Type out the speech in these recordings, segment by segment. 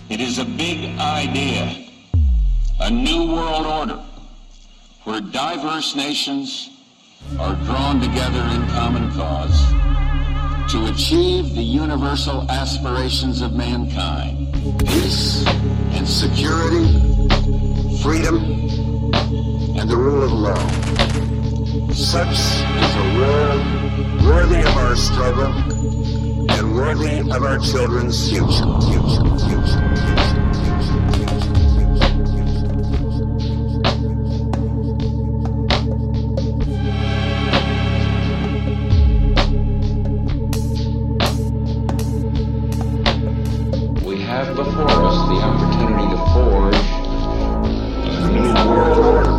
It is a big idea, a new world order, where diverse nations are drawn together in common cause to achieve the universal aspirations of mankind: peace and security, freedom, and the rule of law. Such is a world worthy of our struggle and worthy of our children's future. We have before us the opportunity to forge a new world order.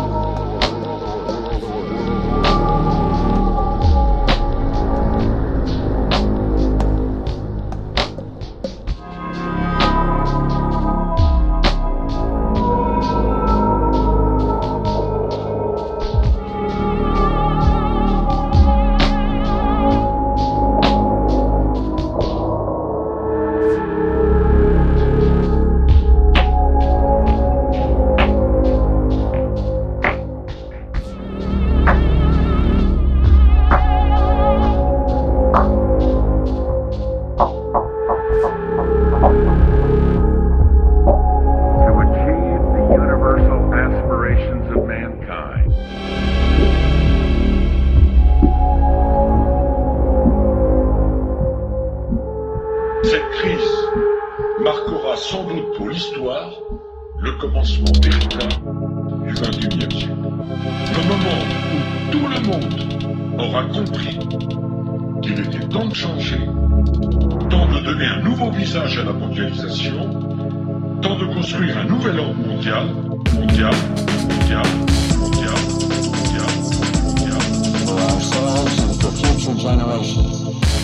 Cette crise marquera sans doute pour l'histoire le commencement véritable du XXIe siècle. Le moment où tout le monde aura compris qu'il était temps de changer, temps de donner un nouveau visage à la mondialisation, temps de construire un nouvel ordre mondial. For ourselves and for future generations.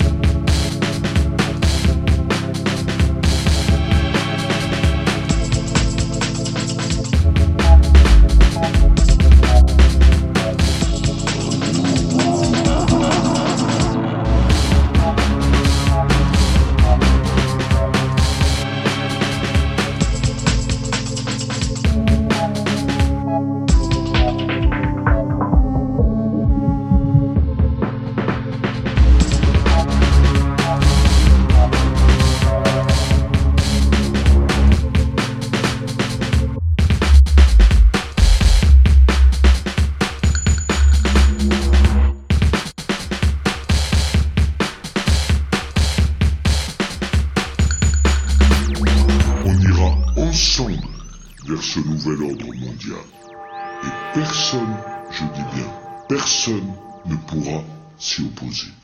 Ensemble vers ce nouvel ordre mondial. Et personne, je dis bien, personne ne pourra s'y opposer.